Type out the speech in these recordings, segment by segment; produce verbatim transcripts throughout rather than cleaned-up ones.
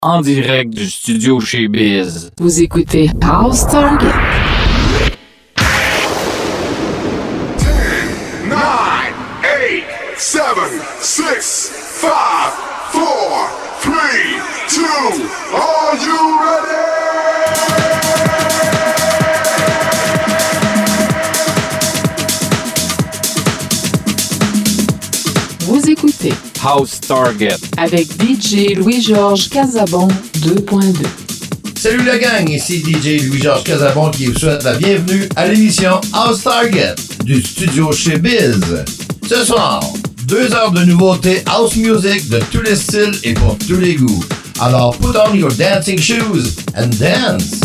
en direct du studio chez Biz. Vous écoutez House Target. ten, nine, eight, seven, six, five, four, three, two, are you ready? Vous écoutez House Target avec D J Louis-Georges Casabon deux point deux. Salut la gang, ici D J Louis-Georges Casabon qui vous souhaite la bienvenue à l'émission House Target du studio chez Biz. Ce soir, deux heures de nouveautés house music de tous les styles et pour tous les goûts. Alors put on your dancing shoes and dance!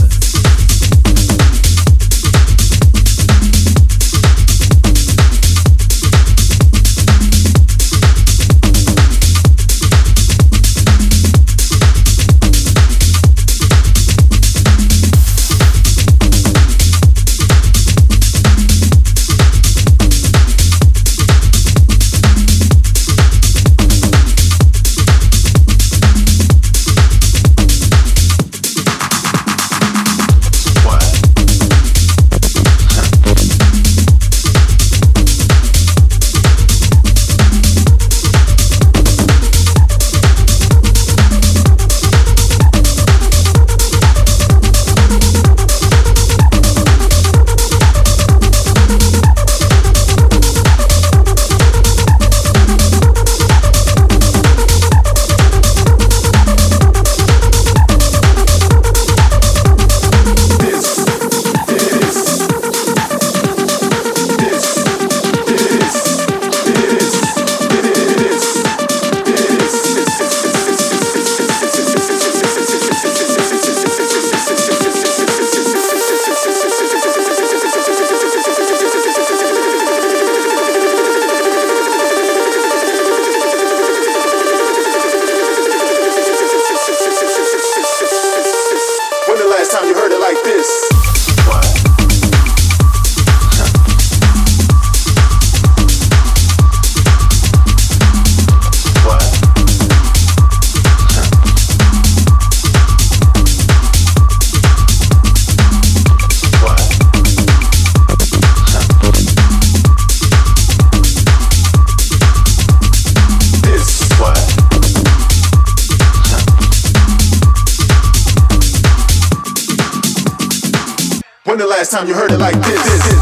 Time you heard it like this.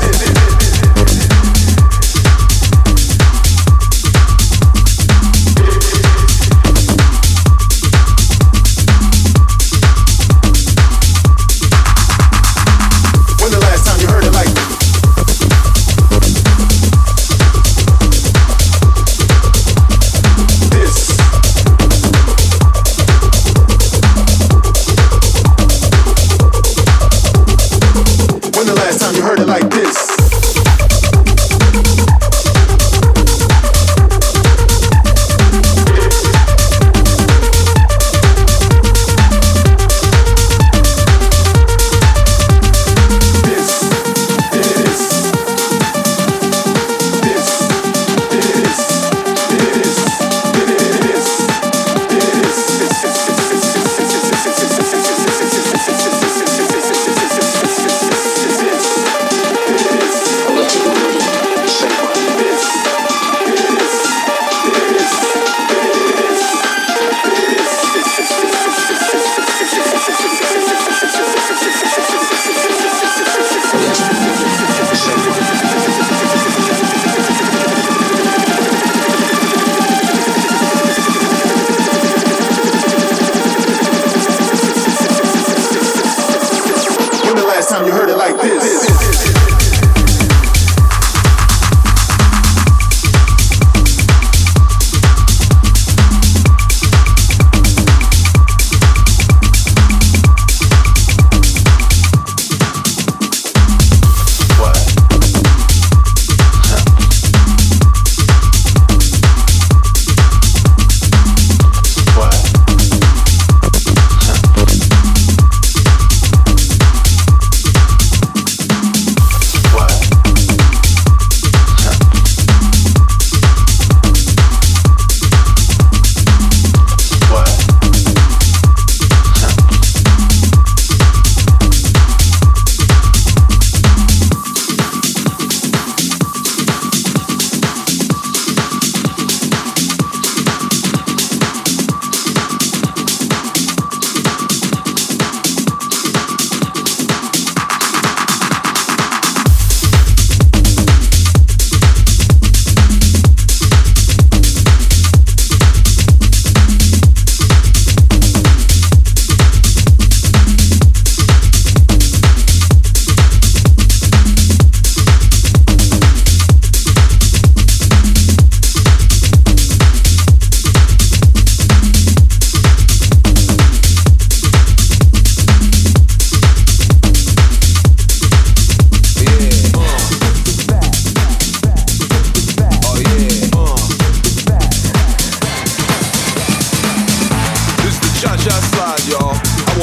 When the last time you heard it like this? This. When the last time you heard it like this?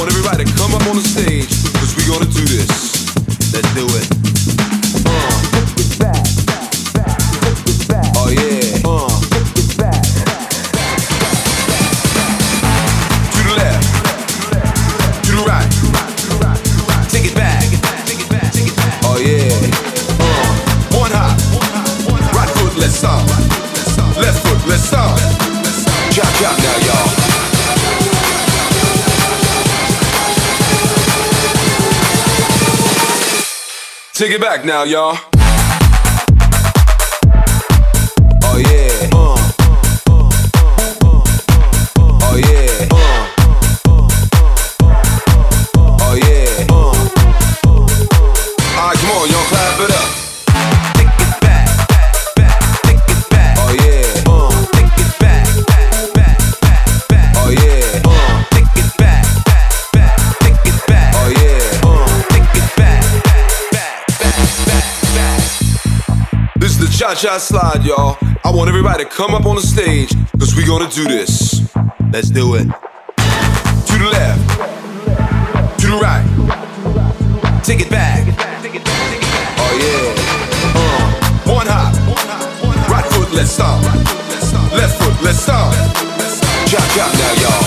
want everybody to come up on the stage, cause we gonna do this. Let's do it. Uh. Oh yeah. Uh. To the left. To the right. Take it back. Oh yeah. Uh. One hop. Right foot, let's start. Left foot, let's start. Chop chop now, y'all. Take it back now, y'all. Oh yeah. Uh. Oh yeah. Uh. Oh yeah. Uh. Alright, come on, y'all, clap it up. Take it back, back, take it back. Oh yeah. Uh. Take it back, back, back, back. Oh yeah. Uh. Take it back, back, take it back. Oh yeah. Uh. Take it back, back, back, back. This is the cha-cha slide, y'all. I want everybody to come up on the stage, cause we gonna do this. Let's do it. To the left. To the right. Take it back. Oh yeah. Uh. One hop. Right foot, let's start. Left foot, let's start. Chop chop now, y'all.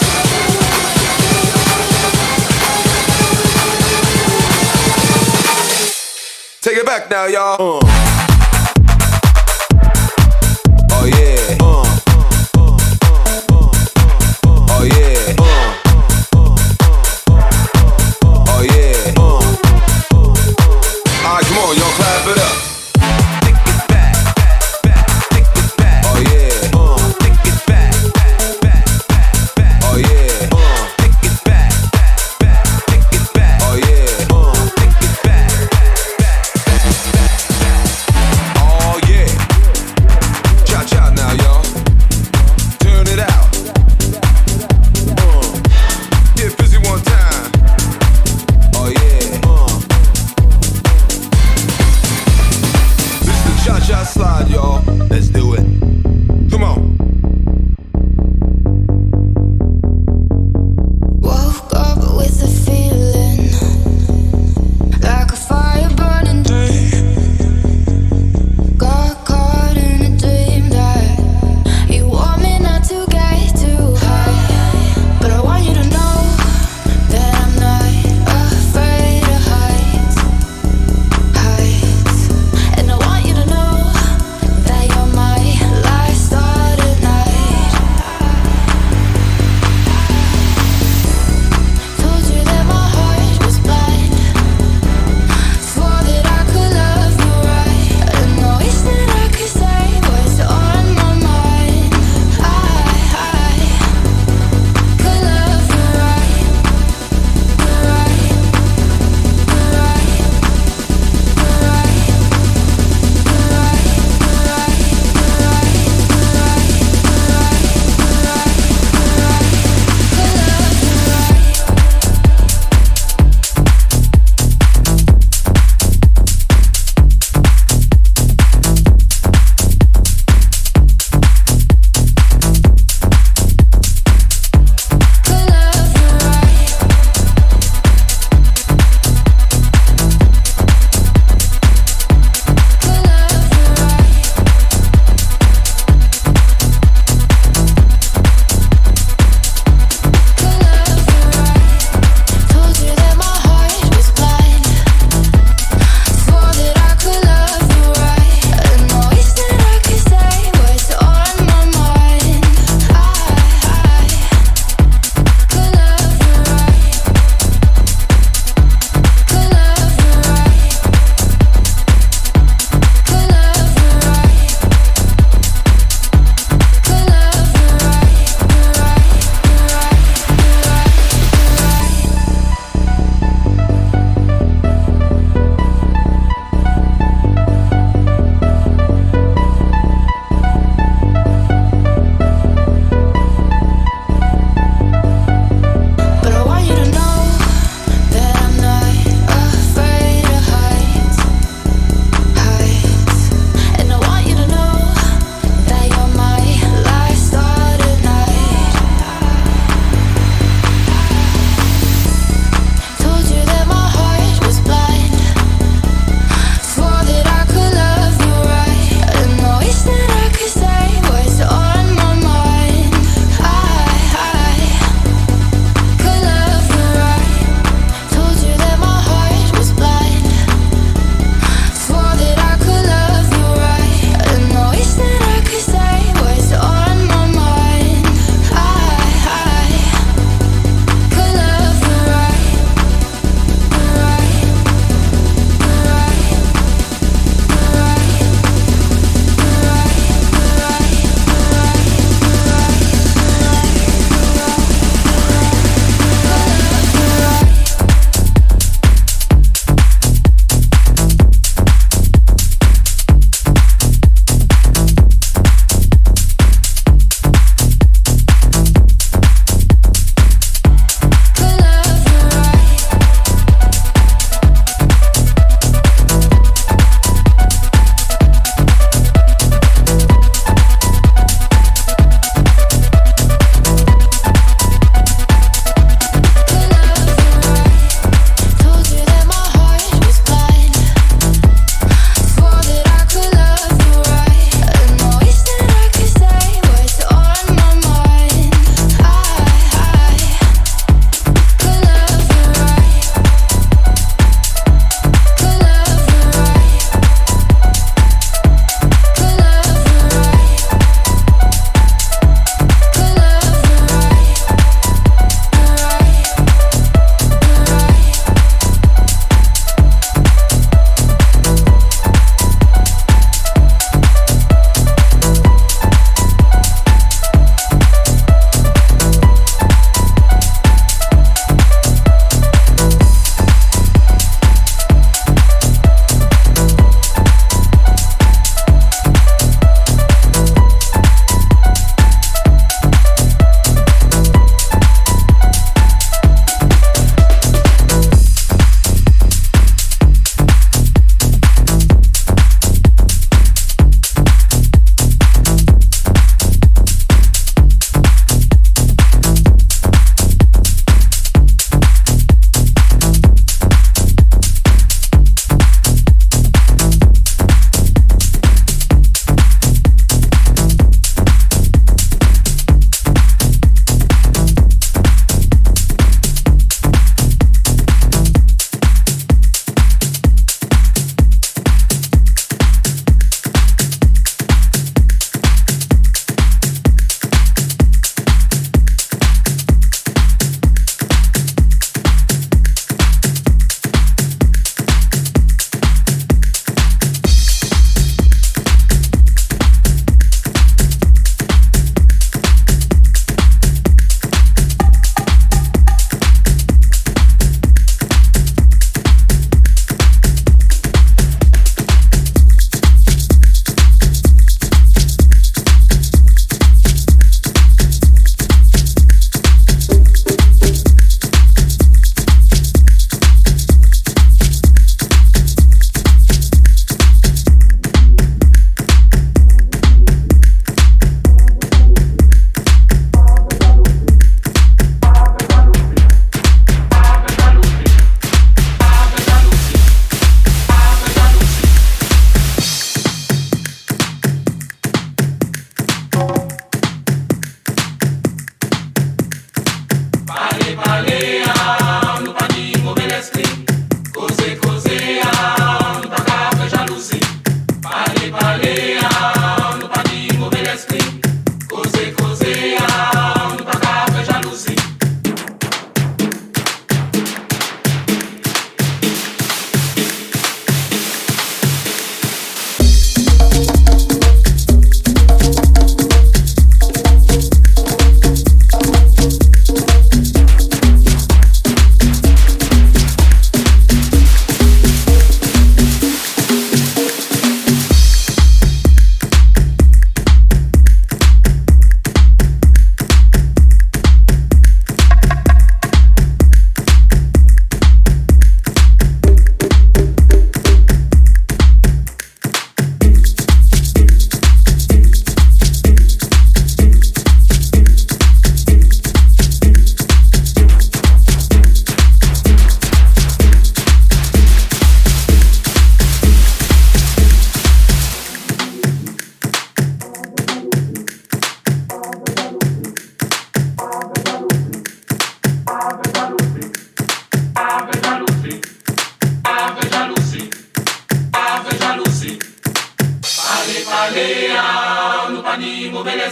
Take it back now, y'all. Uh. Oh yeah. Uh. Oh yeah. Uh. Oh yeah. Uh. Alright, come on, y'all, clap it up. Take it back, back, take it back. Oh yeah. Uh. Take it back, back, back. Oh yeah. Uh. Take it back, back, take it back. Oh yeah. Uh. Take it back, back, back.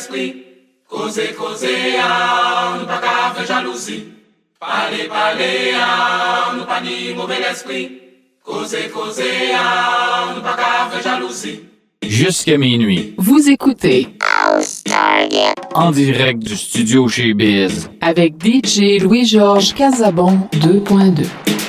l'esprit. Causer, causer, ah, nous pas qu'à faire jalousie. Parler, parler, ah, nous pas ni mauvais l'esprit. Causer, causer, ah, nous pas qu'à faire jalousie. Jusqu'à minuit. Vous écoutez En direct du studio chez Biz. avec D J Louis-Georges Casabon deux point deux.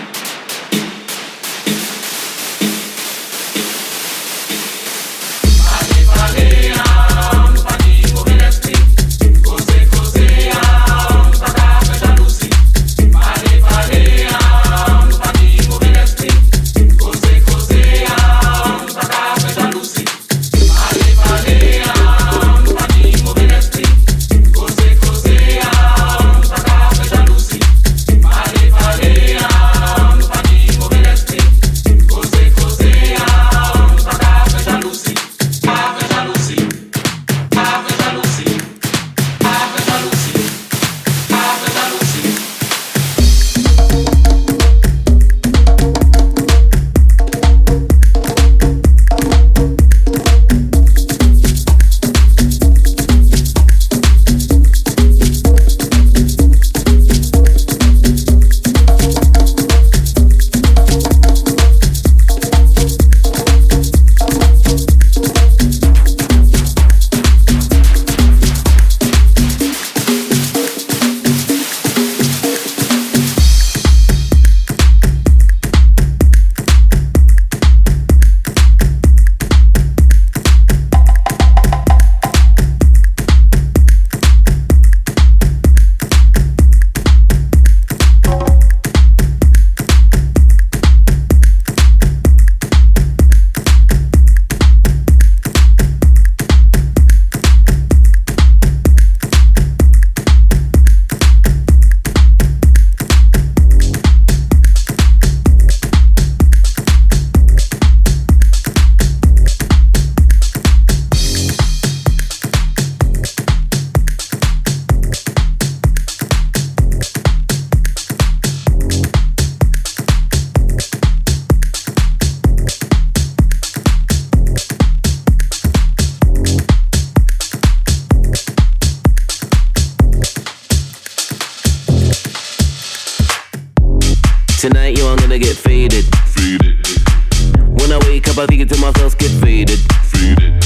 Tonight, yo, I'm gonna get faded. Faded. When I wake up, I think to myself, get faded. Faded.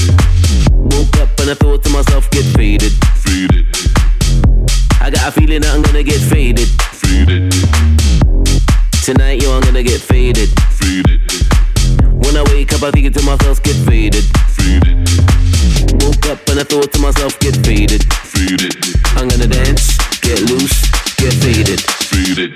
Woke up and I thought to myself, get faded. Faded. I got a feeling that I'm gonna get faded. Faded. Tonight, yo, I'm gonna get faded. Faded. When I wake up, I think to myself, get faded. Faded. Woke up and I thought to myself, get faded. Faded. I'm gonna dance, get loose, get faded. Faded.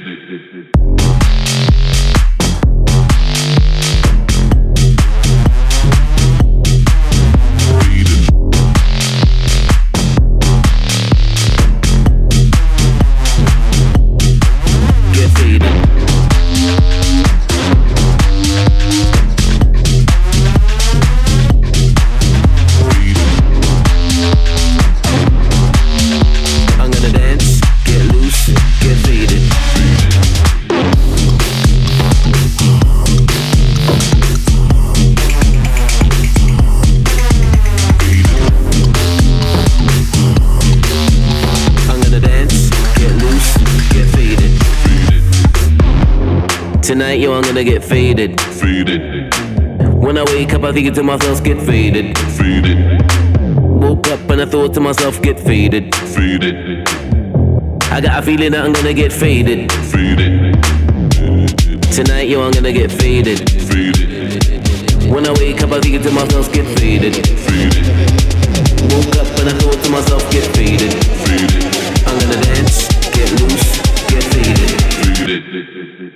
Tonight, yo, I'm gonna get faded. Faded. When I wake up, I think to myself, get faded. Faded. Woke up and I thought to myself, get faded. Faded. I got a feeling that I'm gonna get faded. Faded. Tonight, yo, I'm gonna get faded. Faded. When I wake up, I think to myself, get faded. Faded. Woke up and I thought to myself, get faded. Faded. I'm gonna dance, get loose, get faded. Faded.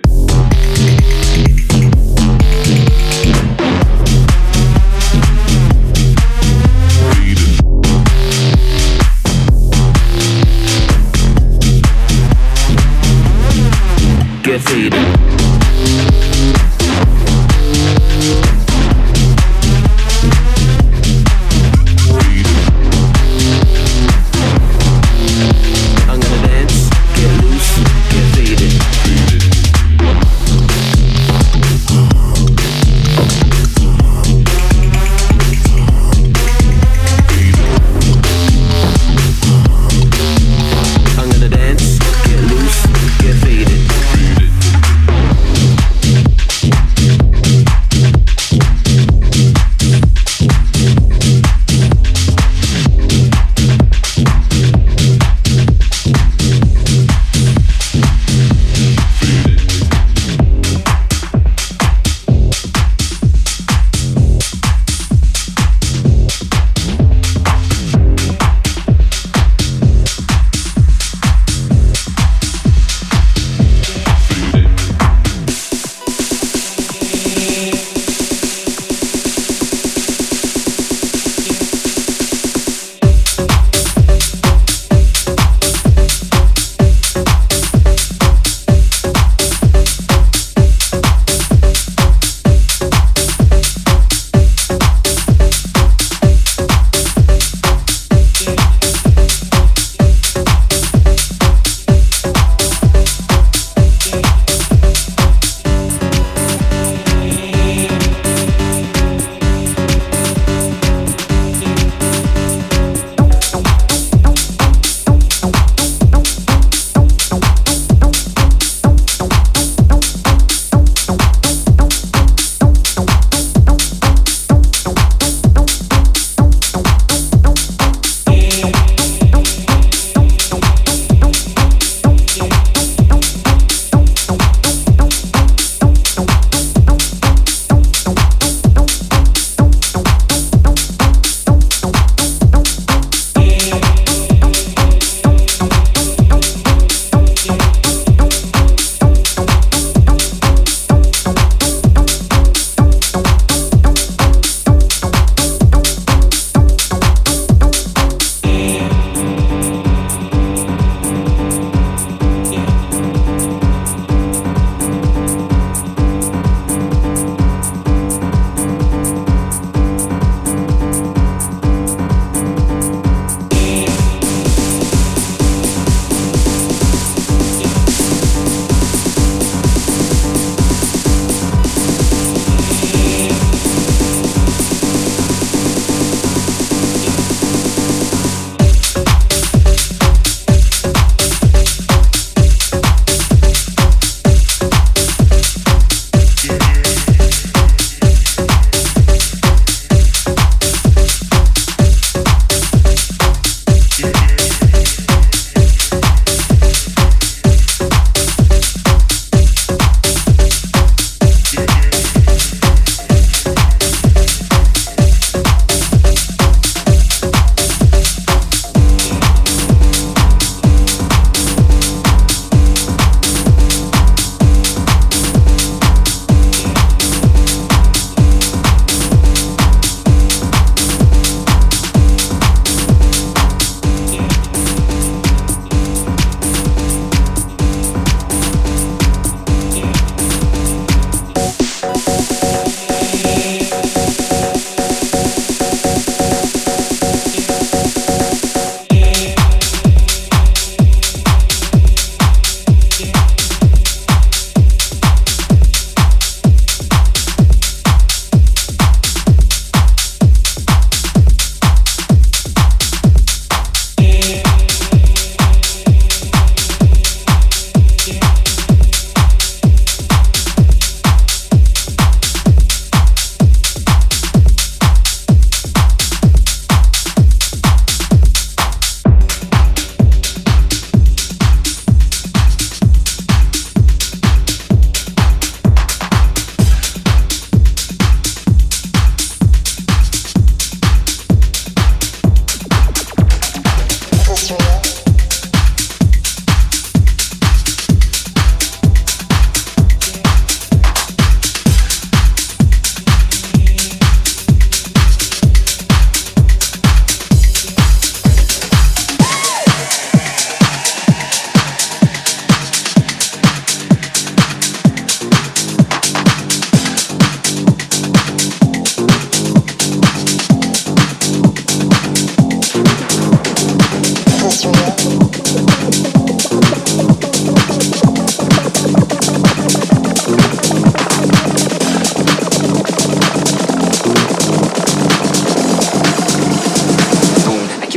Get faded. I'm gonna dance, get loose, get faded.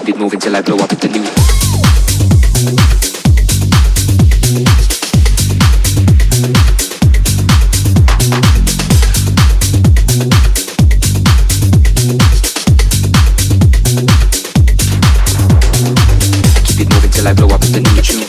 it moving till I blow up at the new. Keep it moving till I blow up at the new tune.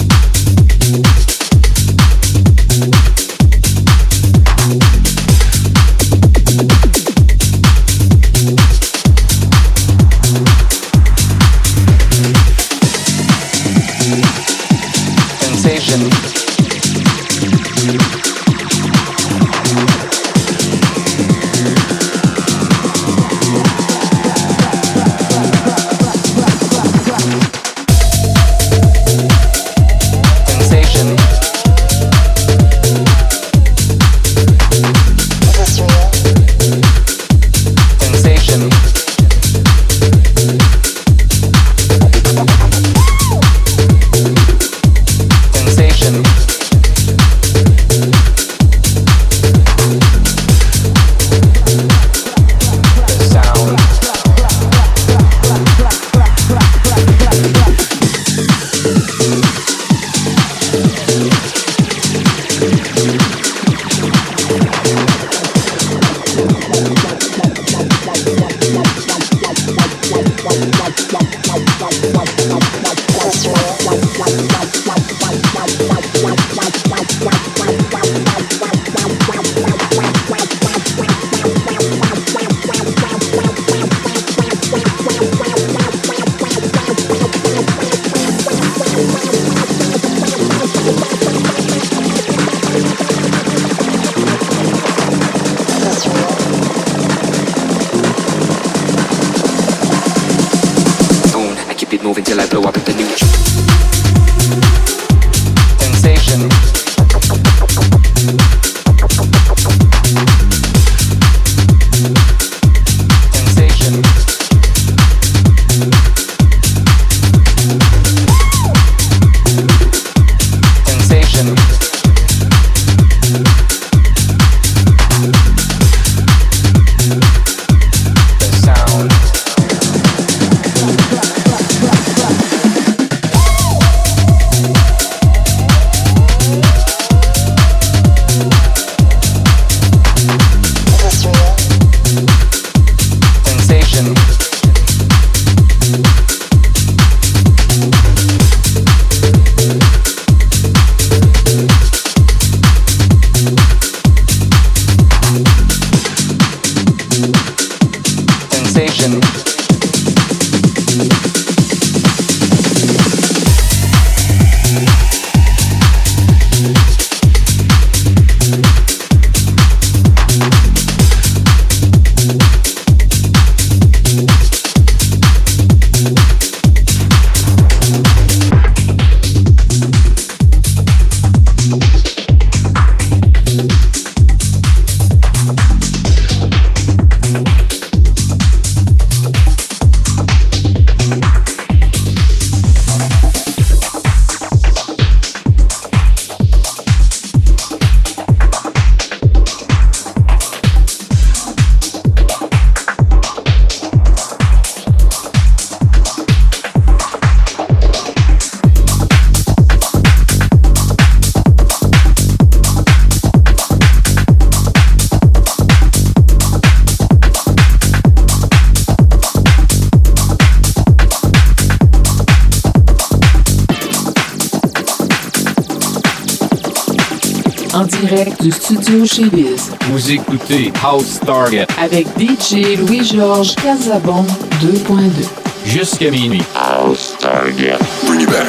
En direct du studio chez Biz. Vous écoutez House Target Avec D J Louis-Georges Casabon deux point deux. jusqu'à minuit. House Target. Bring it back.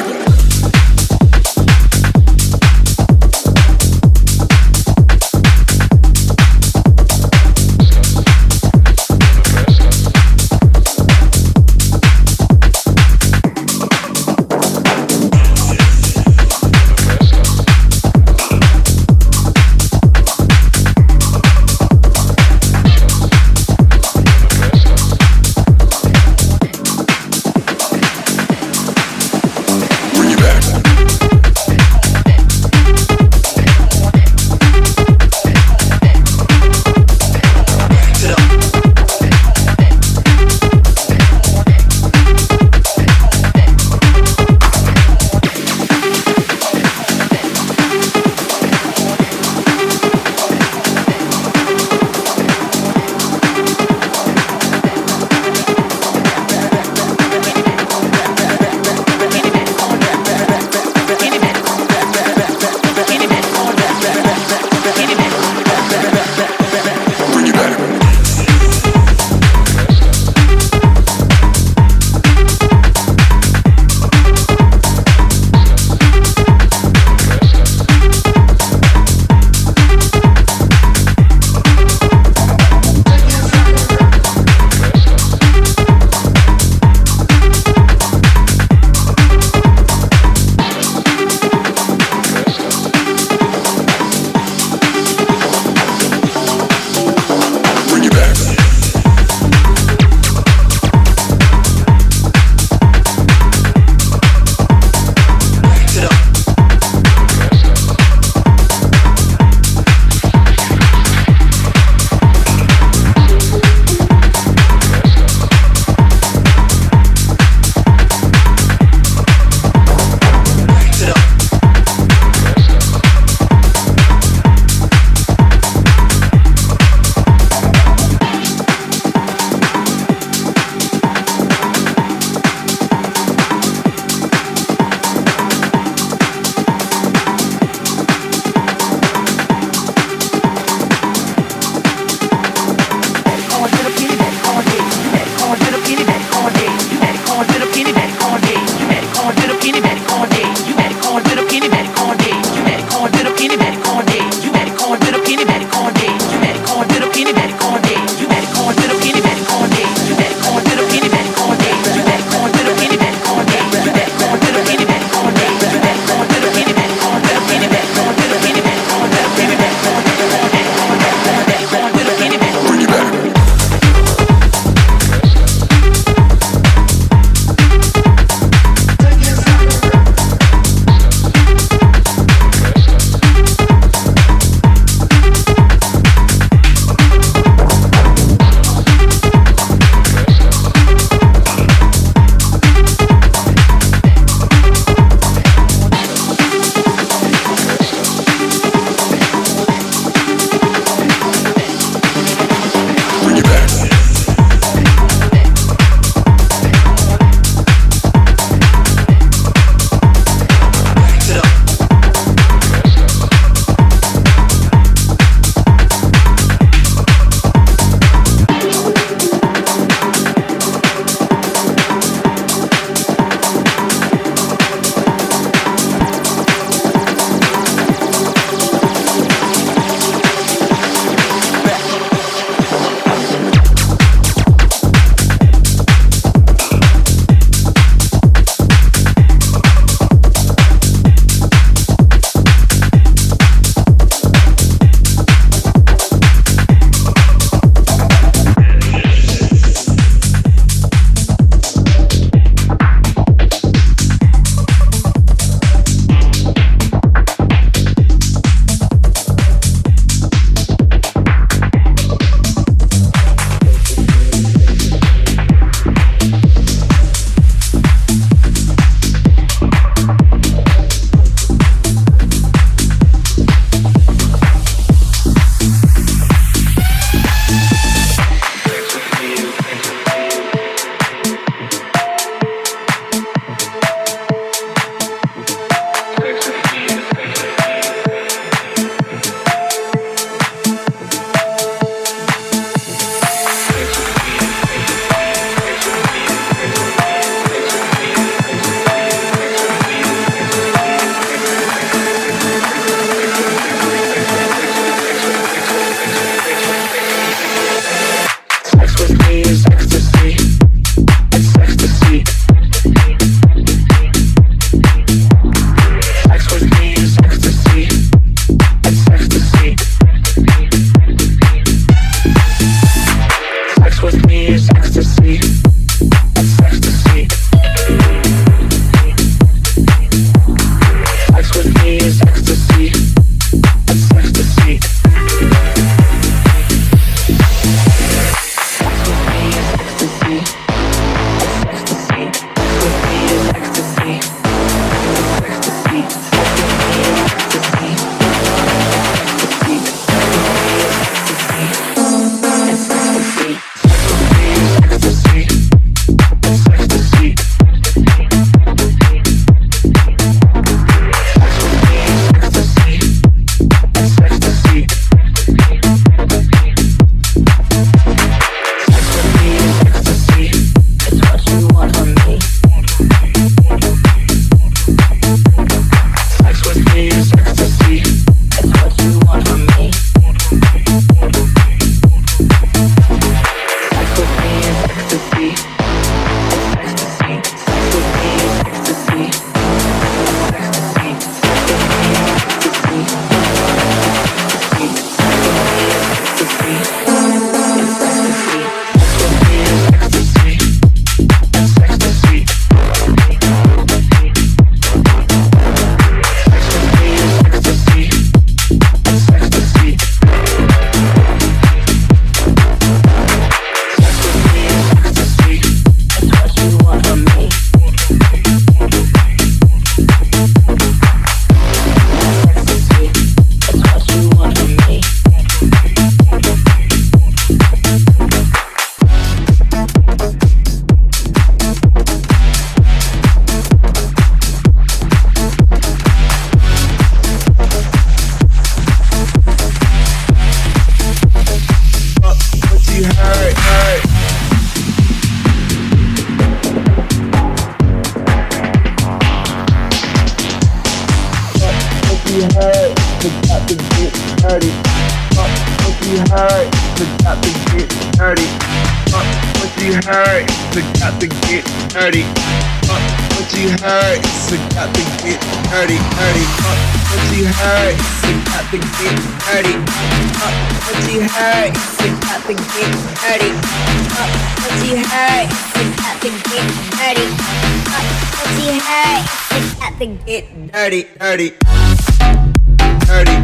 forgot to get dirty. Fuck what you heard, forgot to get dirty. Fuck what you heard, forgot to get dirty. Fuck what you heard, forgot to get dirty, dirty. Fuck what you heard, forgot to get dirty. Fuck what you heard, forgot to get dirty. Fuck what you heard, forgot to get dirty. Fuck what you heard, forgot to get dirty, dirty, dirty,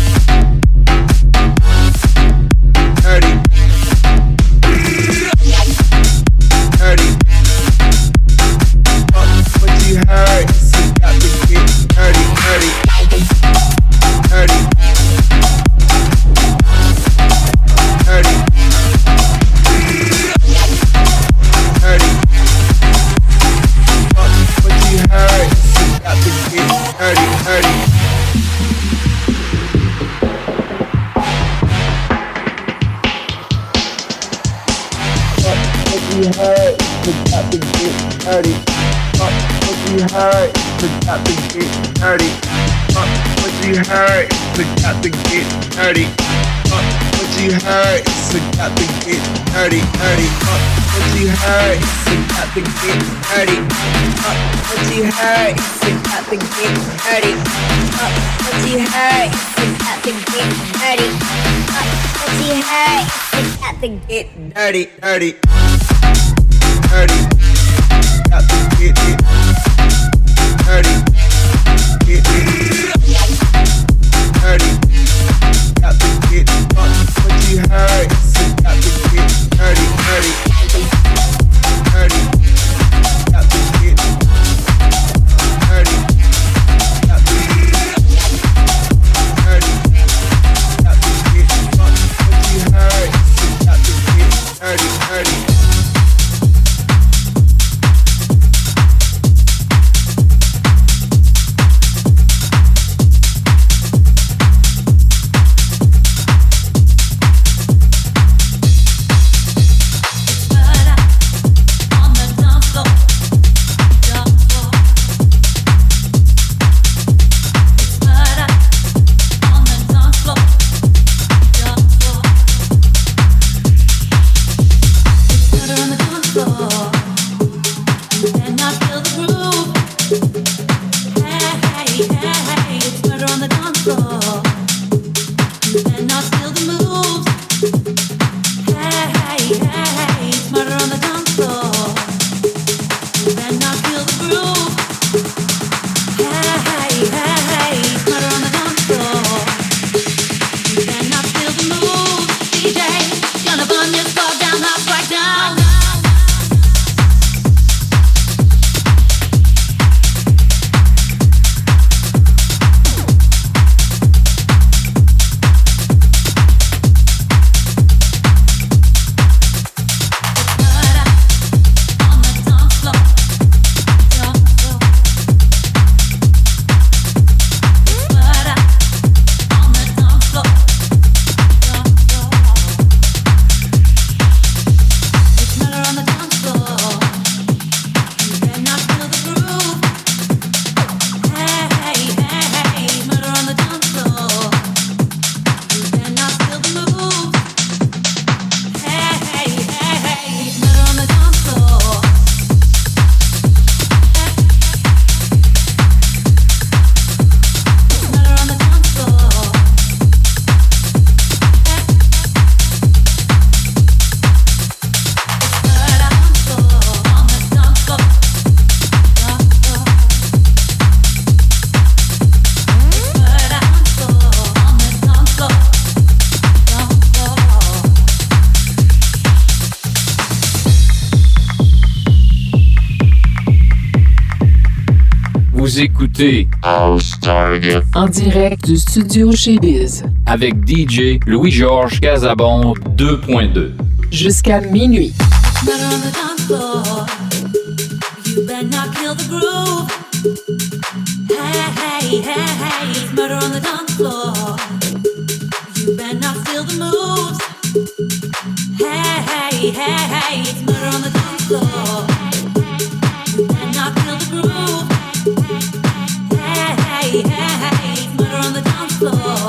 dirty, dirty. Fuck what you heard, forgot to get dirty, dirty, dirty, dirty, dirty. Fuck what you heard, forgot to get dirty, dirty. Fuck what you heard, forgot to get dirty. Fuck what you heard, forgot to get dirty. Fuck what you heard, forgot to get dirty. Fuck what you heard, forgot to get dirty, dirty. Fuck what you heard, forgot to get dirty. Fuck what you heard, forgot to get dirty. Fuck what you heard, forgot to get dirty. Fuck what you heard, forgot to get dirty, dirty, dirty. Got to get it dirty, get it dirty. Got to get fuck what you heard, so got to get dirty, dirty, dirty. Got to get dirty, got to get dirty. Got to get fuck what you heard, so got to get dirty, dirty. Vous écoutez House Target En direct du studio chez Biz. avec D J Louis-Georges Casabon deux point deux. Jusqu'à minuit. Murder on the dance floor. You better not kill the groove. Hey, hey, hey, hey. It's murder on the dance floor. You better not steal the moves. Hey, hey, hey, hey. It's murder on the dance floor. You better not kill the groove. Hey, hey, hey, hey. It's murder on the dance floor.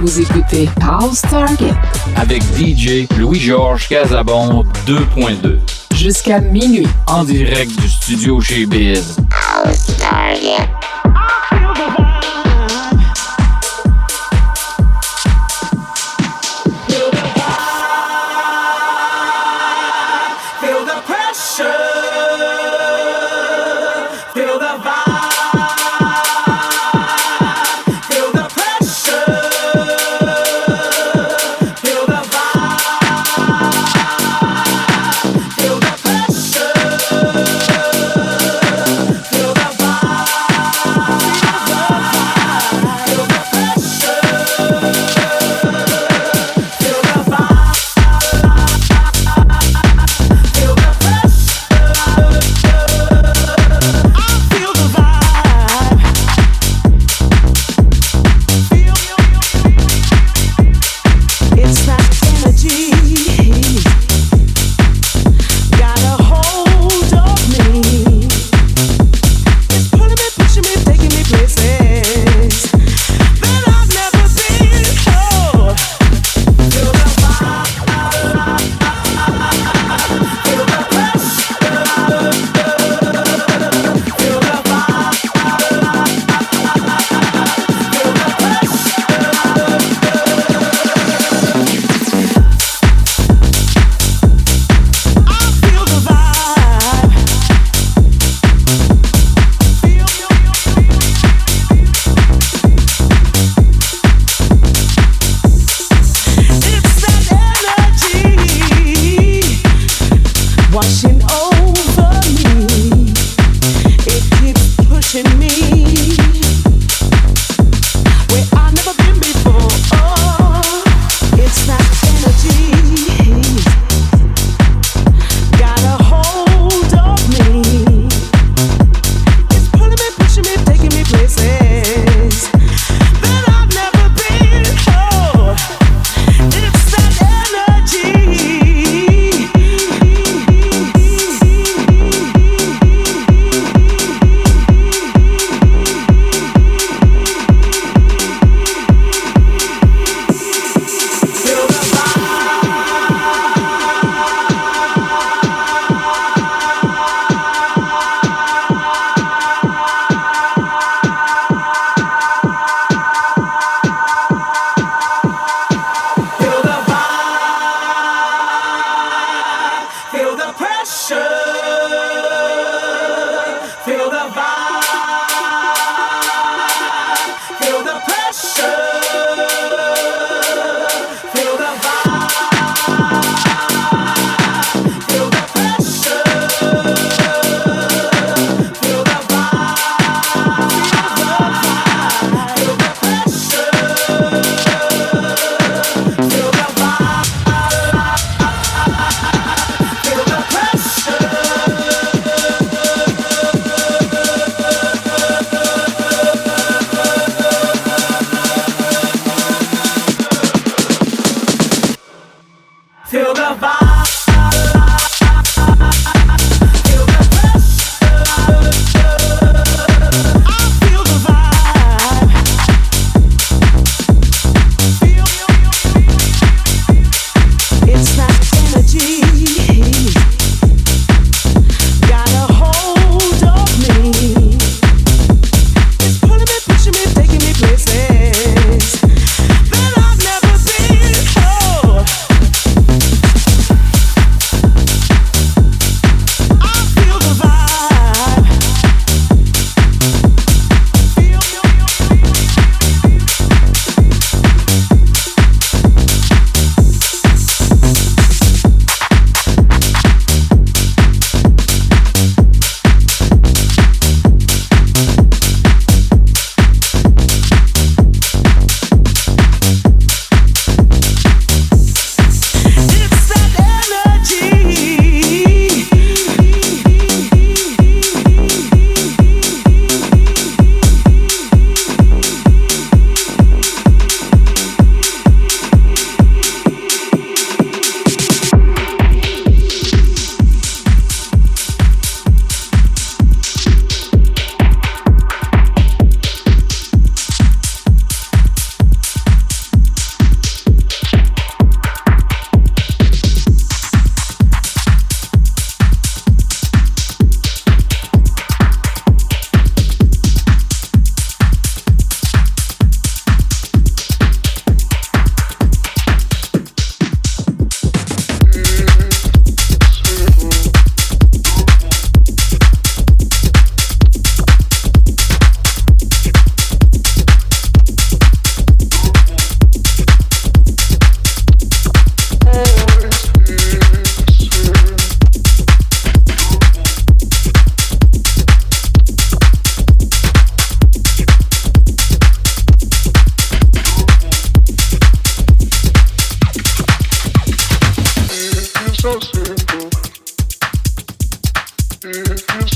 Vous écoutez House Target avec D J Louis-Georges Casabon deux point deux. Jusqu'à minuit. En direct du studio chez Biz. House Target. Feel the vibe.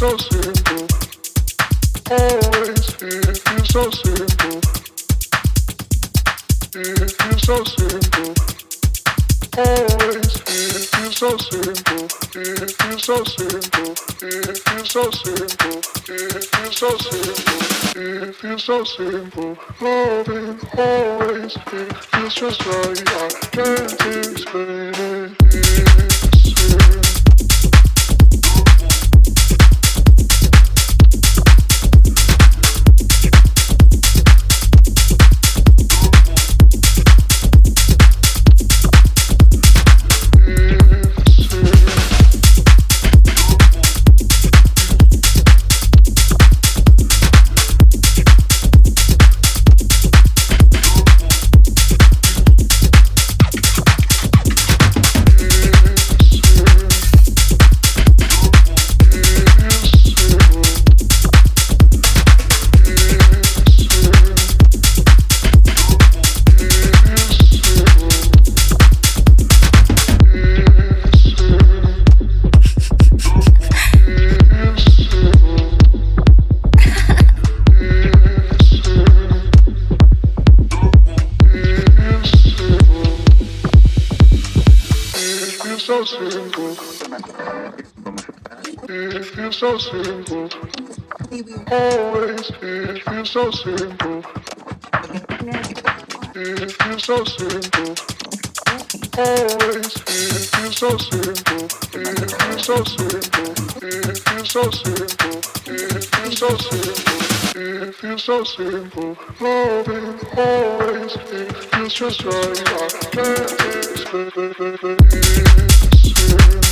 so simple. Always it feels so simple. It feels so simple. Always it feels so simple. It feels so simple. It feels so simple. It feels so simple. It feels so simple. Loving always it feels just right. I can't explain it. It's simple. So simple. Always it feels so simple. It feels so simple. Always it feels so simple. It feels so simple. It feels so simple. It feels so simple. It feels so simple. Loving always it feels just right. I can't explain it.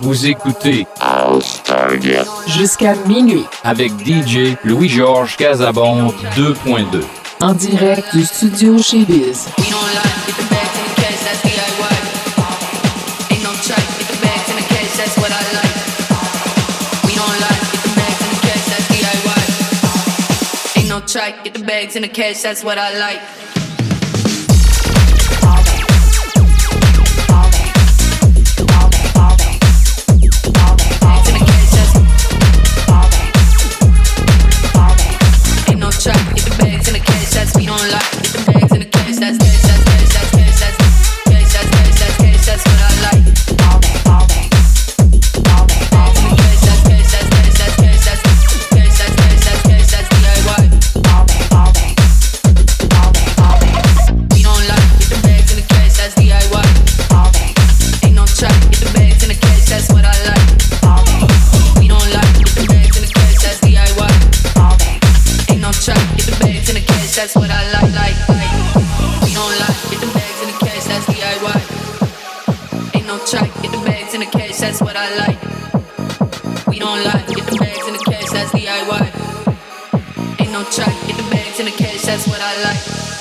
Vous écoutez House Target jusqu'à minuit avec D J Louis-Georges Casabon deux point deux. En direct du studio chez Biz. Try, get the bags and the cash, that's what I like. Ain't no try, get the bags and the cash, that's we don't like. Get the bags and the cash, that's cash, that's cash, that's cash, that's cash, that's cash, that's cash, that's what I like. That's what I like, like, like. We don't like, get the bags in the cash, that's D I Y. Ain't no try, get the bags in the cash, that's what I like. We don't like, get the bags in the cash, that's D I Y. Ain't no try, get the bags in the cash, that's what I like.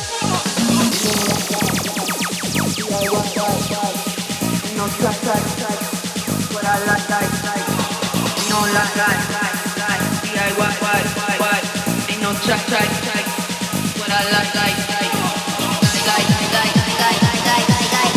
Ain't no try, try, try, what I like, like, like. We don't like, like, like, like, D I Y, Y, Y, Y. Ain't no try, try, try. I like, like, like, like, like, like, like, like, like, like, like,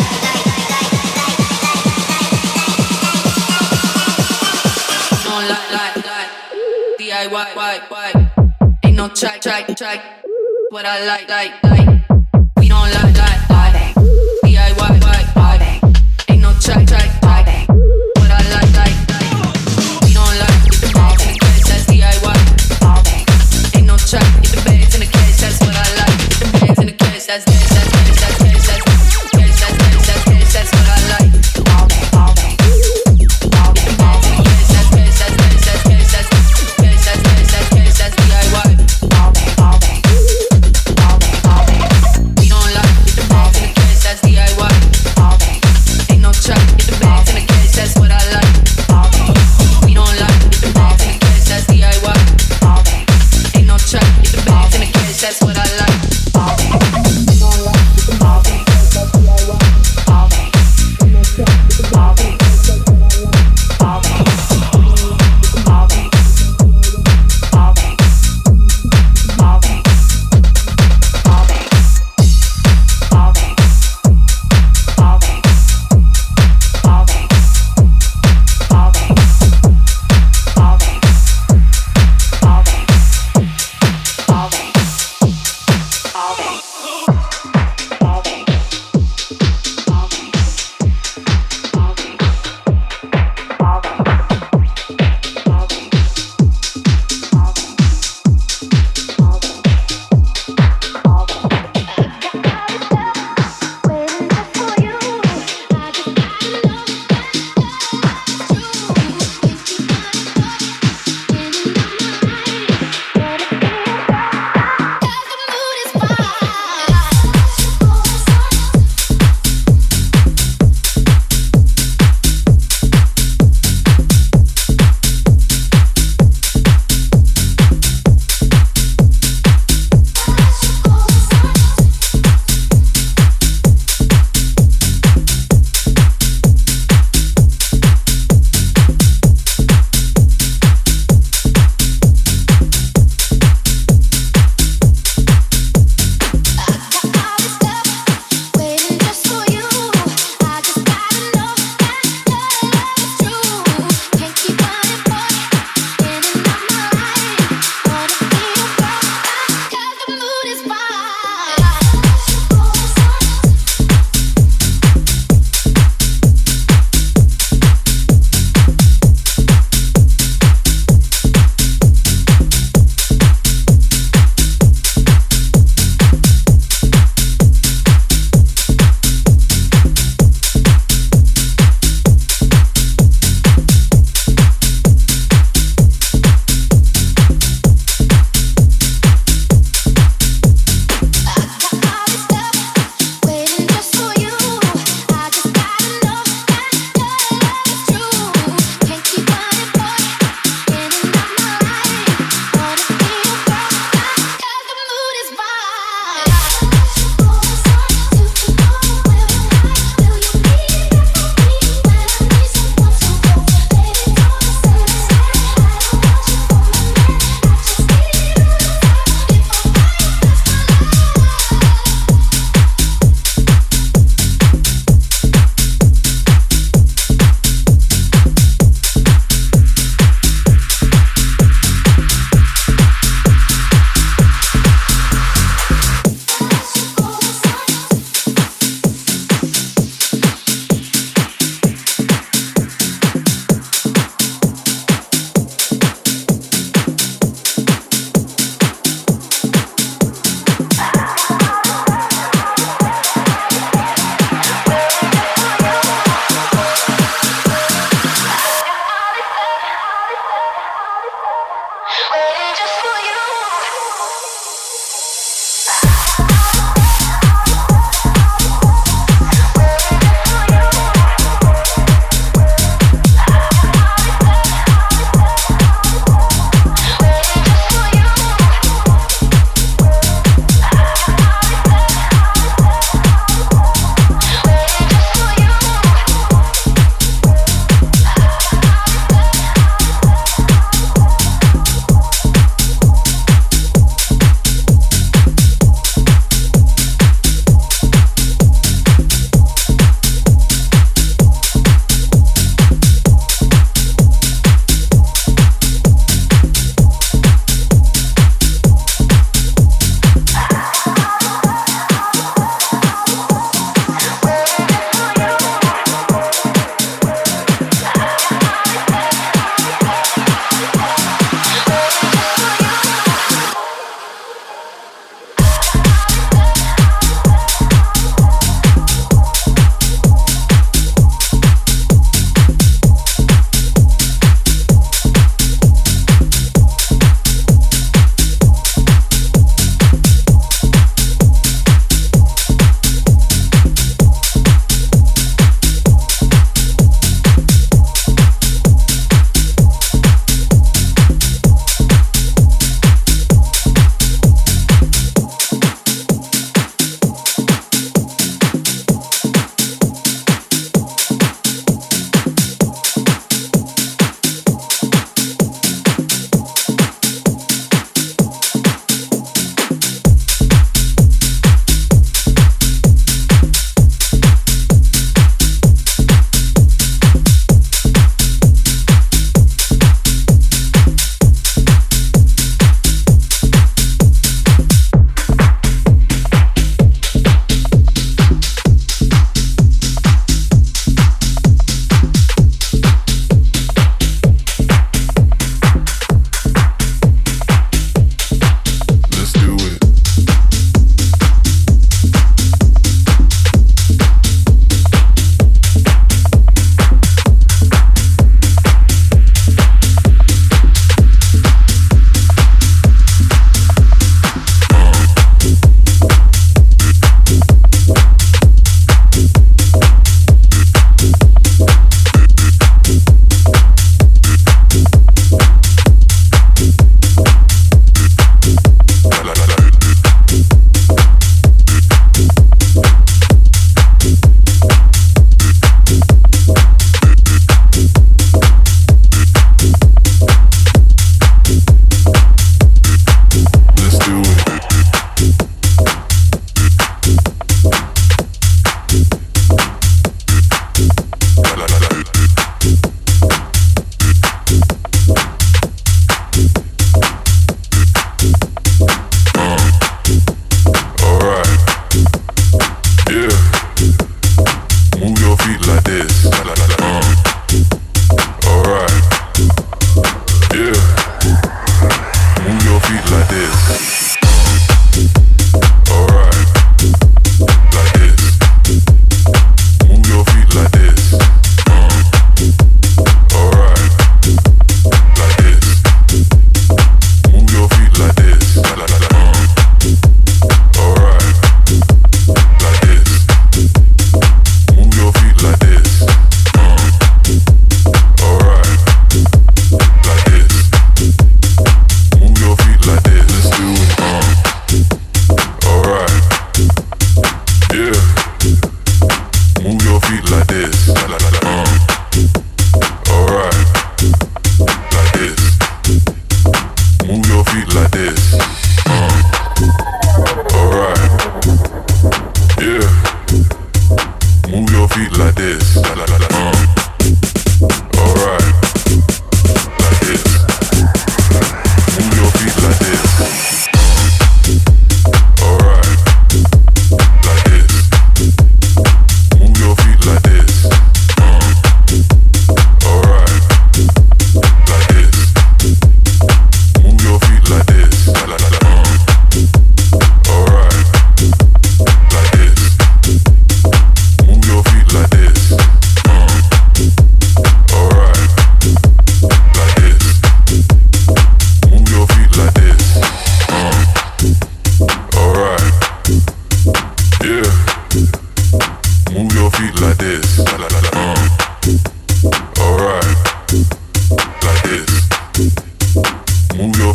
don't like, like, like, D I Y, Y, Y. Ain't no try, try, try. What I like, like, like. We don't like, like, like, D I Y, Y, Y. Ain't no try, try, try. What I like, like, like. We don't like, get the bags in the cash, that's D I Y. Ain't no try, get the bags in the cash, that's what I like. That's, that's, that's, that's, that's, that's, that's, that's, that's, that's, that's what I like. Get the bags in the cash, that's, that's, that's, that's, that's, that's, that's, that's, that's, that's, that's, D I Y.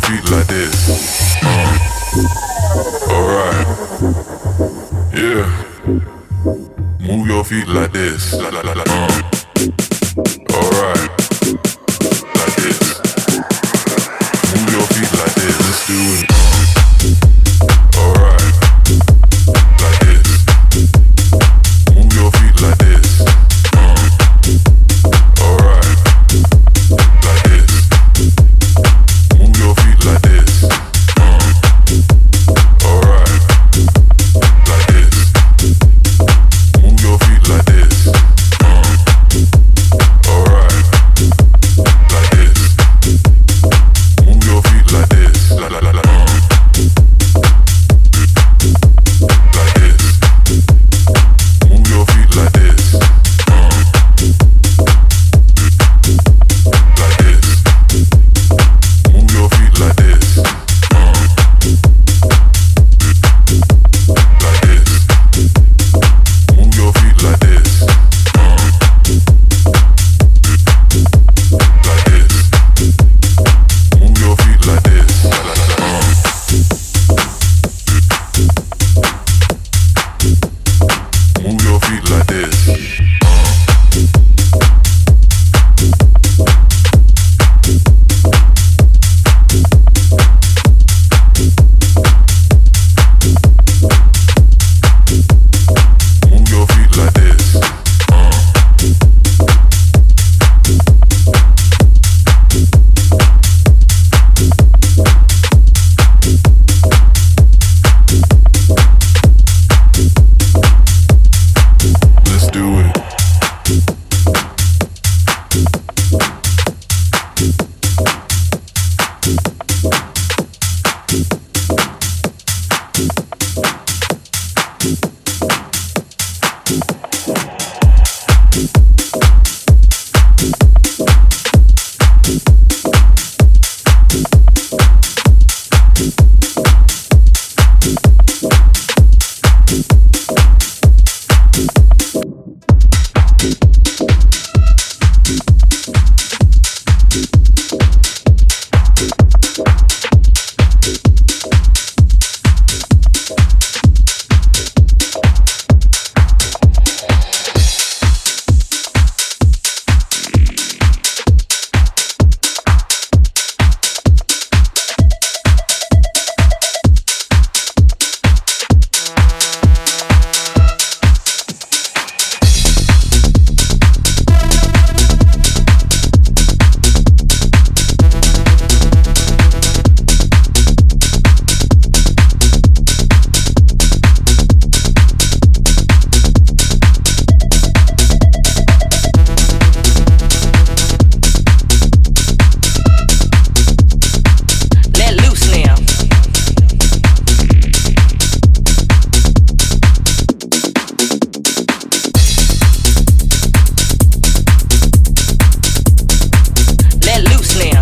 feet like this. Uh, Alright. Yeah. Move your feet like this. La, la, la, la. Uh, Alright. Like this. Move your feet like this. Let's do it. Uh, Alright. Like this. Move your feet like this. Uh, Alright. Like this. Move your feet like this. Uh, Alright. Like this. Move your feet like this. Uh, Alright. Like this. Move your feet like this. La la la la. Uh, Like this. Move your feet like this. Uh, Like this. Move your feet like this. Uh, Like this. Move your feet like this. Uh, Like this. Move your feet like this. La, la, la, la. Uh, Move your feet like this. Uh, Move your feet like this. Uh, Let's do it. Let loose now. Let loose now.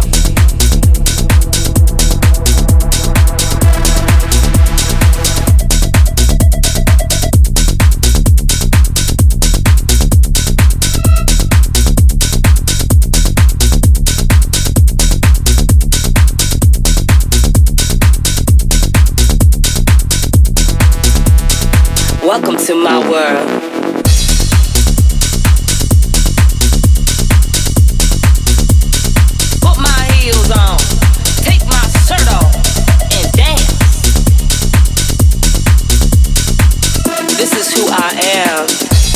Welcome to my world. Put my heels on, take my shirt off, and dance. This is who I am.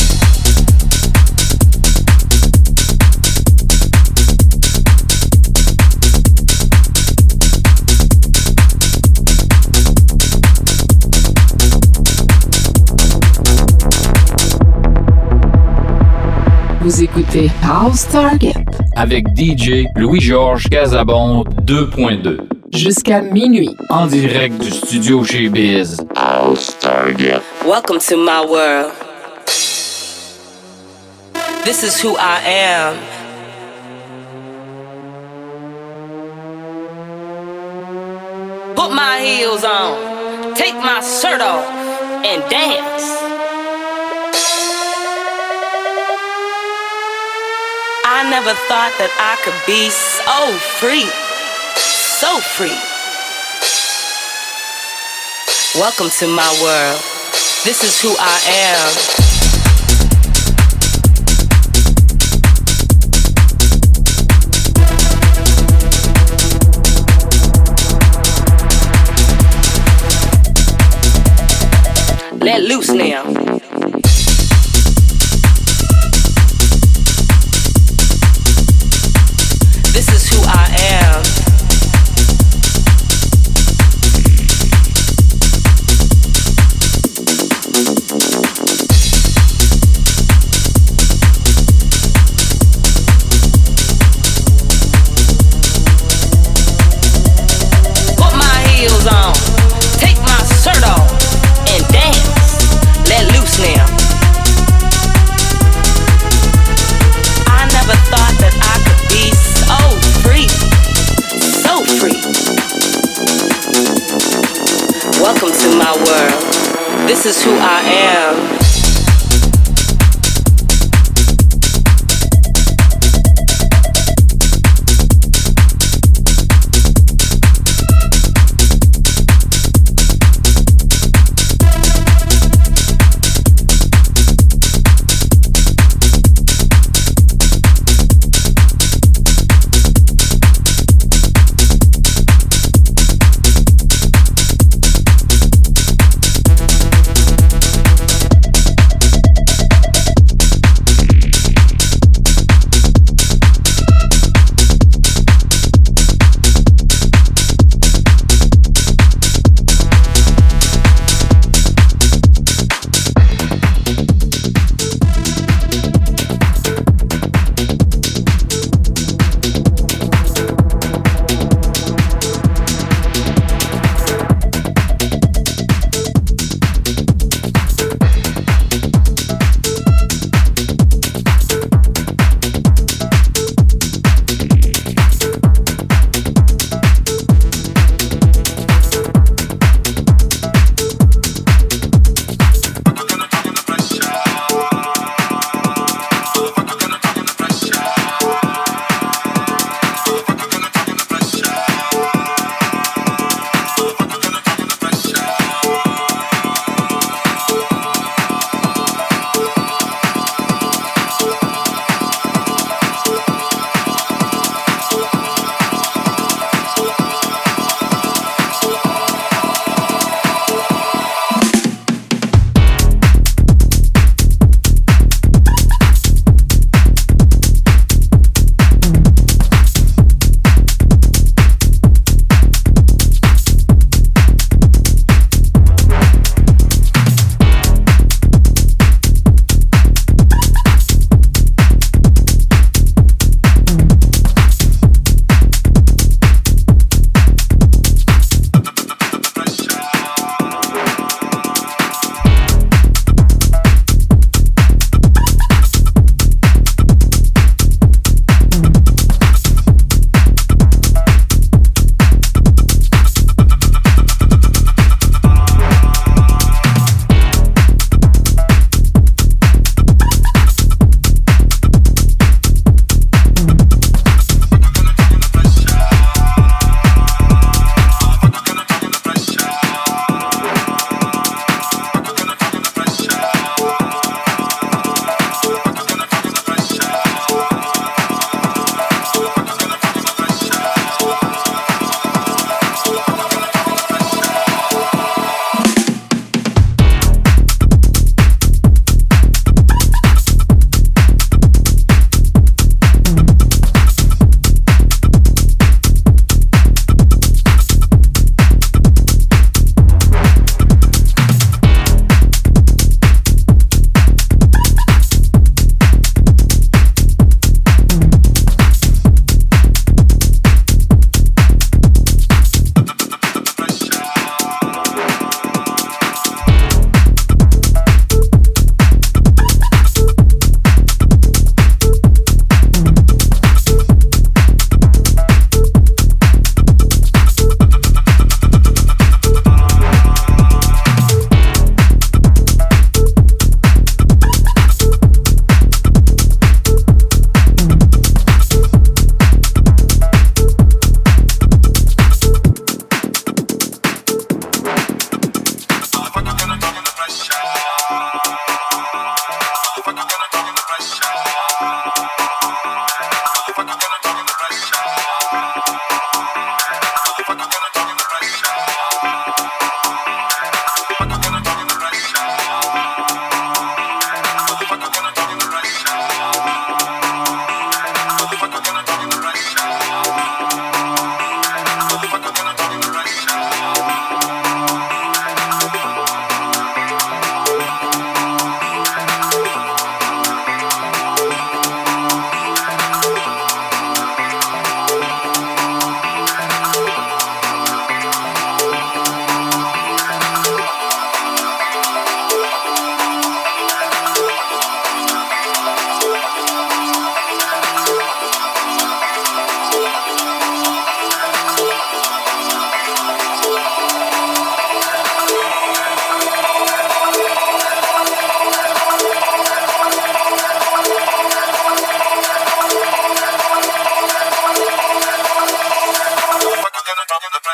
Vous écoutez House Target avec D J Louis-Georges Casabon deux point deux. jusqu'à minuit. En direct du studio chez Biz. House Target. Welcome to my world. This is who I am. Put my heels on, take my shirt off, and dance. I never thought that I could be so free, so free. Welcome to my world. This is who I am. Let loose now. This is who I am. Put my heels on. Take my shirt off and dance. Let loose now. I never thought that I could be so free, so free. Welcome to my world. This is who I am.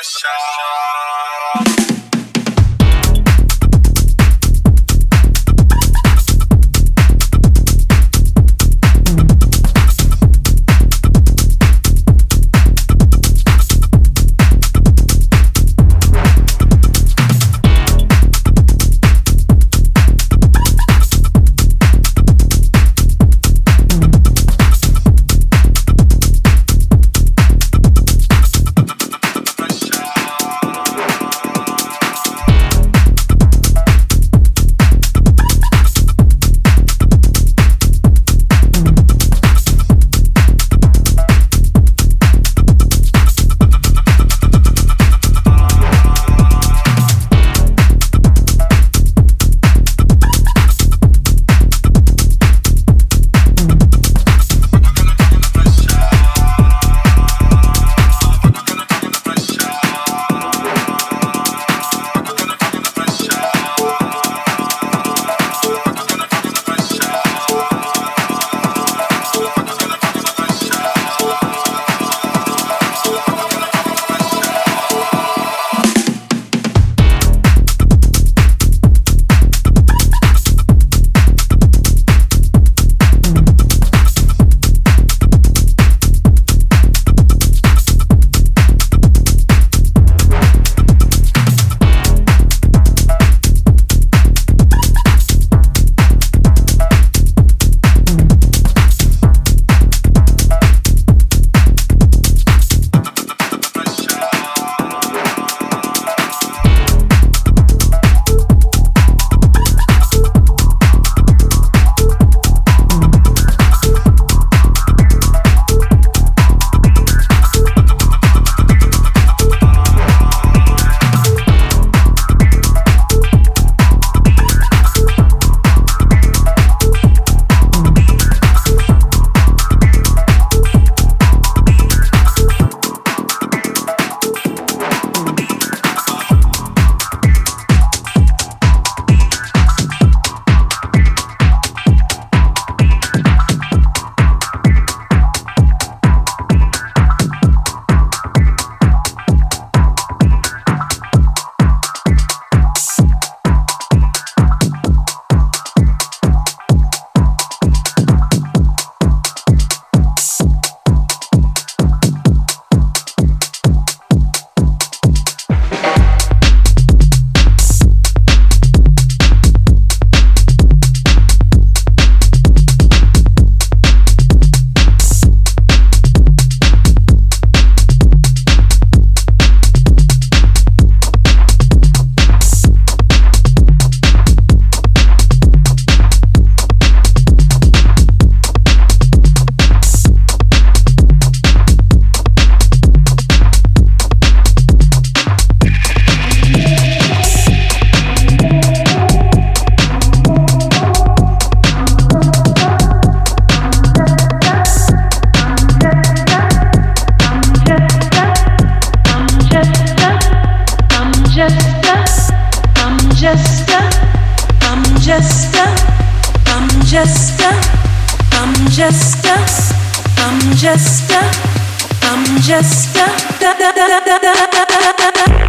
just a, I'm just a, I'm just a, I'm just a, da da da da da da.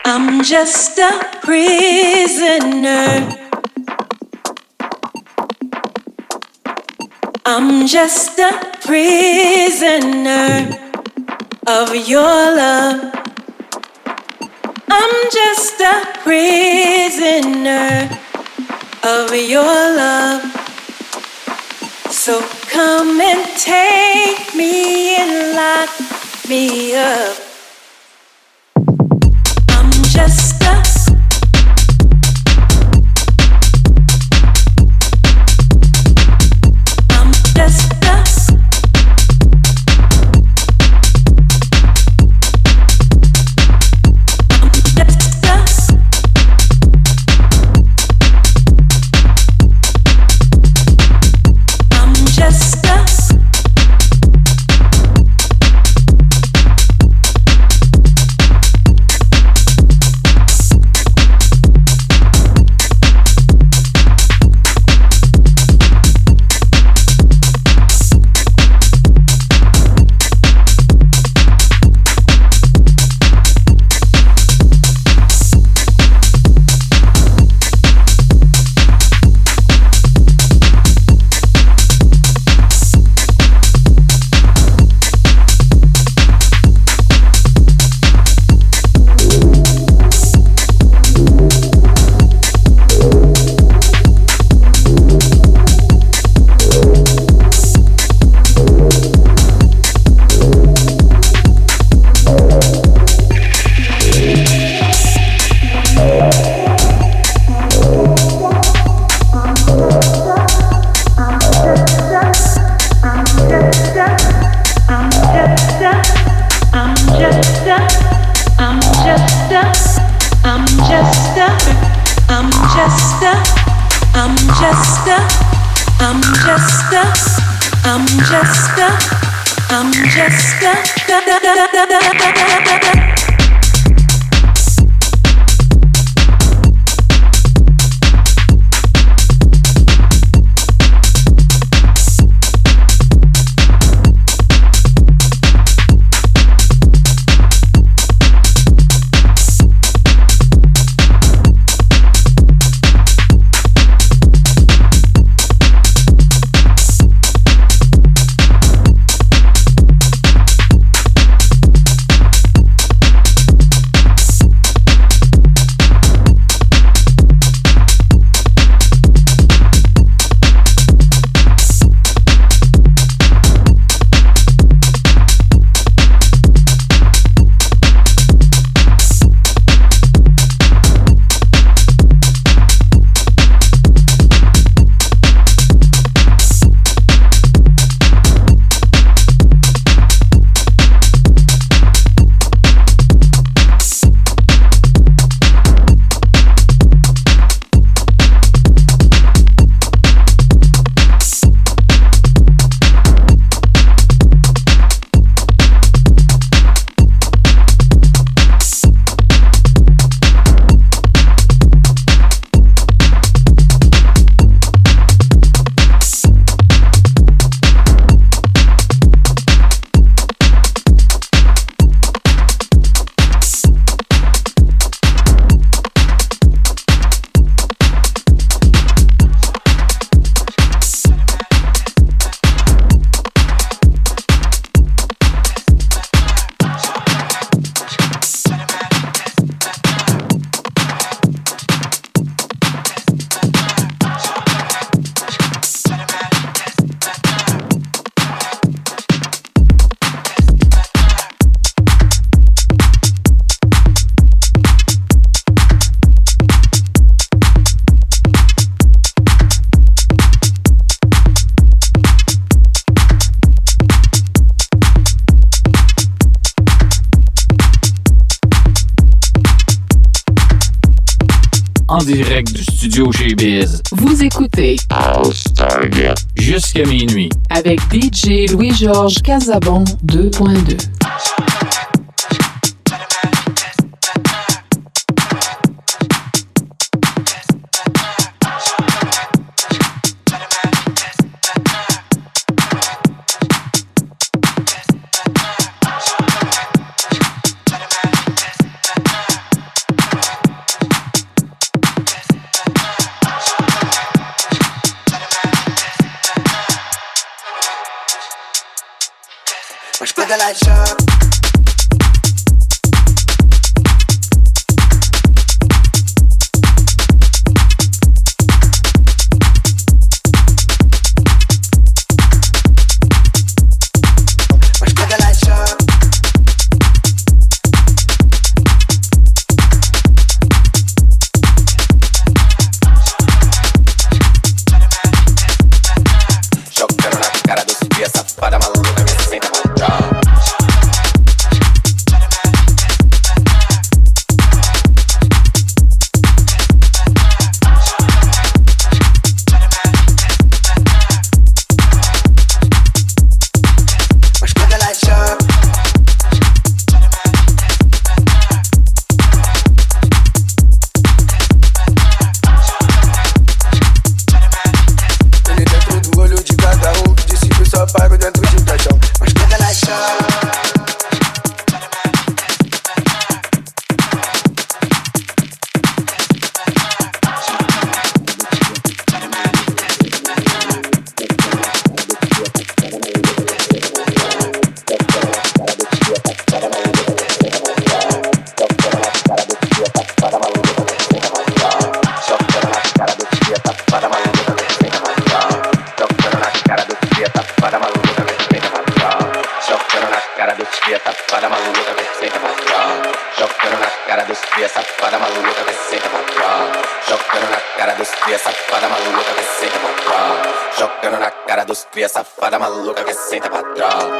I'm just a prisoner. I'm just a prisoner of your love. I'm just a prisoner of your love. So come and take me and lock me up. I'm just a I'm just a en direct du studio chez Biz. Vous écoutez Jusqu'à minuit avec D J Louis-Georges Casabon deux point deux. with the light sharp. Cria safada maluca que senta pra trás.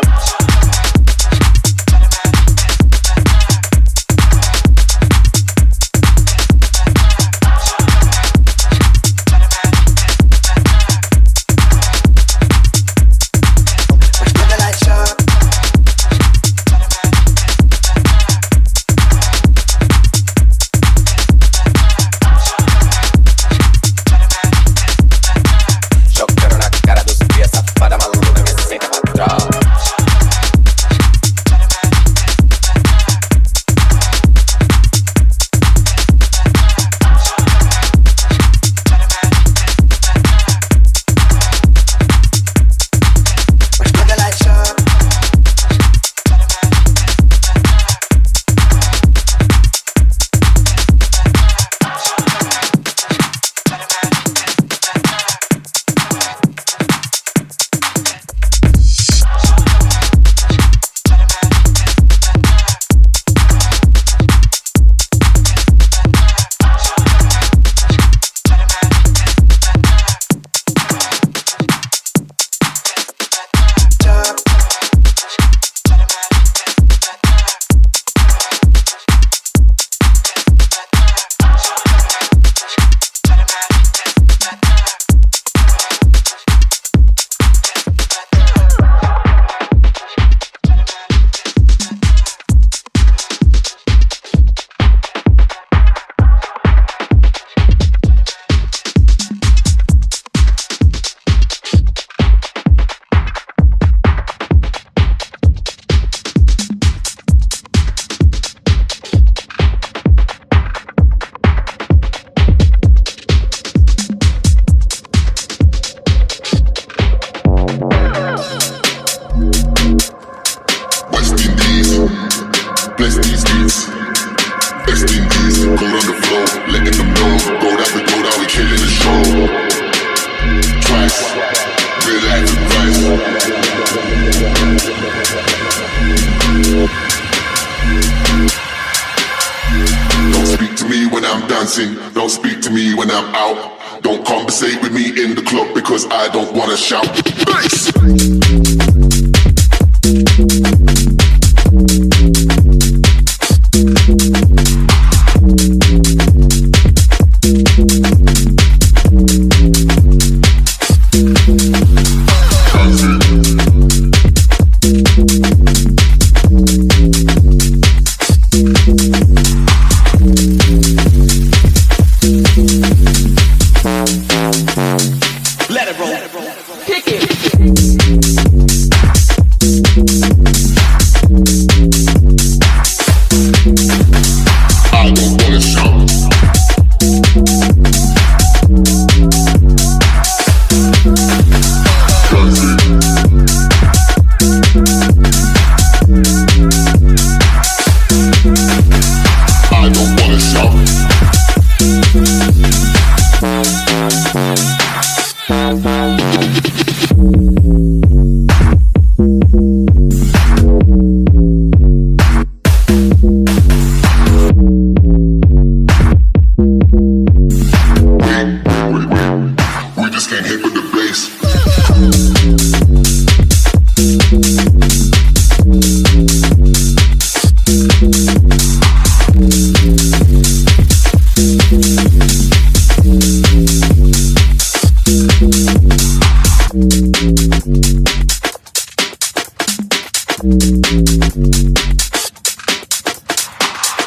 Don't speak to me when I'm out. Don't conversate with me in the club because I don't wanna shout. Bass!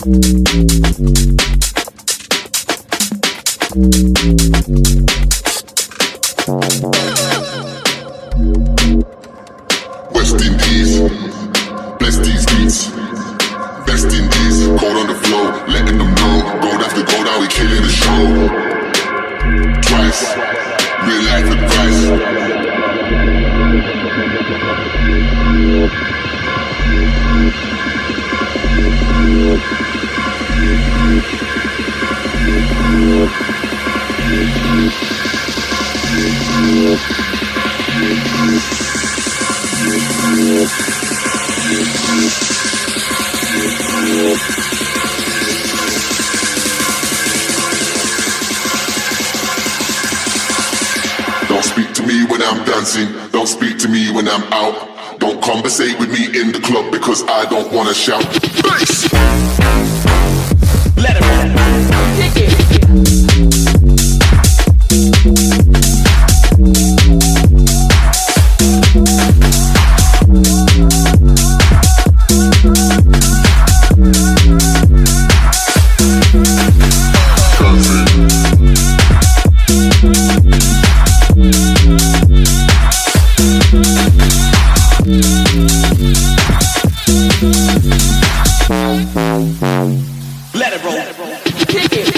West Indies, bless these beats. West Indies, cold on the floor, letting them know. Gold after gold, how we killing the show. Twice, real life advice. Don't speak to me when I'm dancing, don't speak to me when I'm out. Don't conversate with me in the club because I don't wanna shout. Bass! Let it roll. Kick it. Let it roll. Let it roll. Kick it.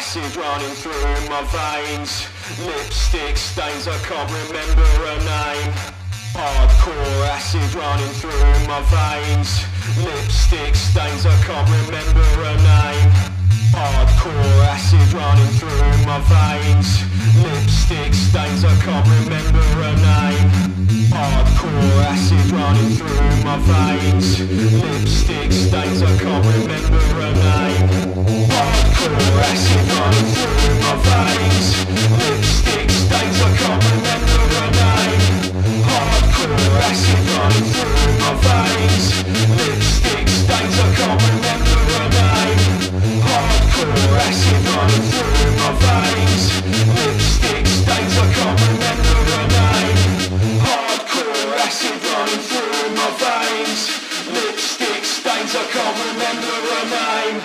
acid running through my veins. Lipstick stains, I can't remember her name. Hardcore acid running through my veins. Lipstick stains, I can't remember her name. Hardcore acid running through my veins. Lipstick stains, I can't remember her name. Hardcore acid running through my veins. Lipstick stains, I can't remember her name. Hardcore acid running through my veins. Lipstick stains, I can't remember her name. Hardcore acid running through my veins. Lipstick stains, I can't remember her name. Hardcore acid running through my veins. Lipstick stains, I can't remember her name. Hardcore acid running through my veins. Lipstick stains, I can't remember her name.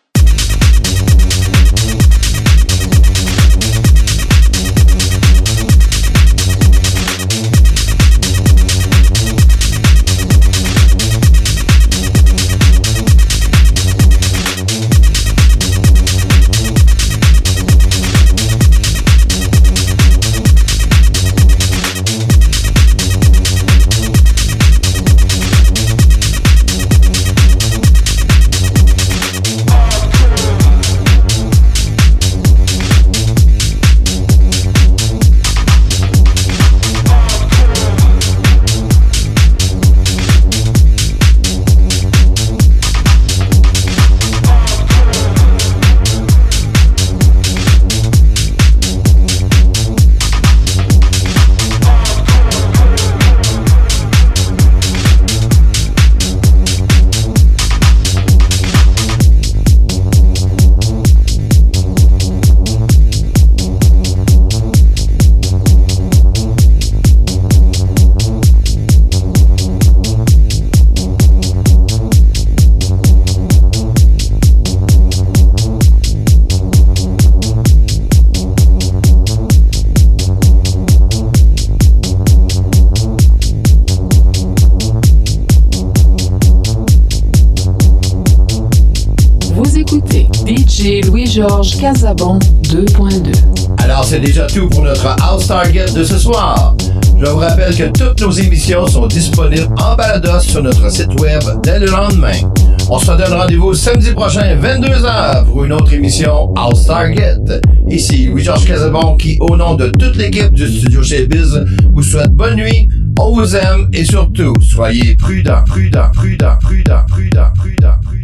Louis-Georges Casabon deux point deux. Alors, c'est déjà tout pour notre House Target de ce soir. Je vous rappelle que toutes nos émissions sont disponibles en balados sur notre site web dès le lendemain. On se donne rendez-vous samedi prochain, vingt-deux heures, pour une autre émission House Target. Ici, Louis-Georges Casabon, qui, au nom de toute l'équipe du Studio Chez Biz, vous souhaite bonne nuit, on vous aime et surtout, soyez prudents, prudents, prudents, prudents, prudents, prudents, prudents.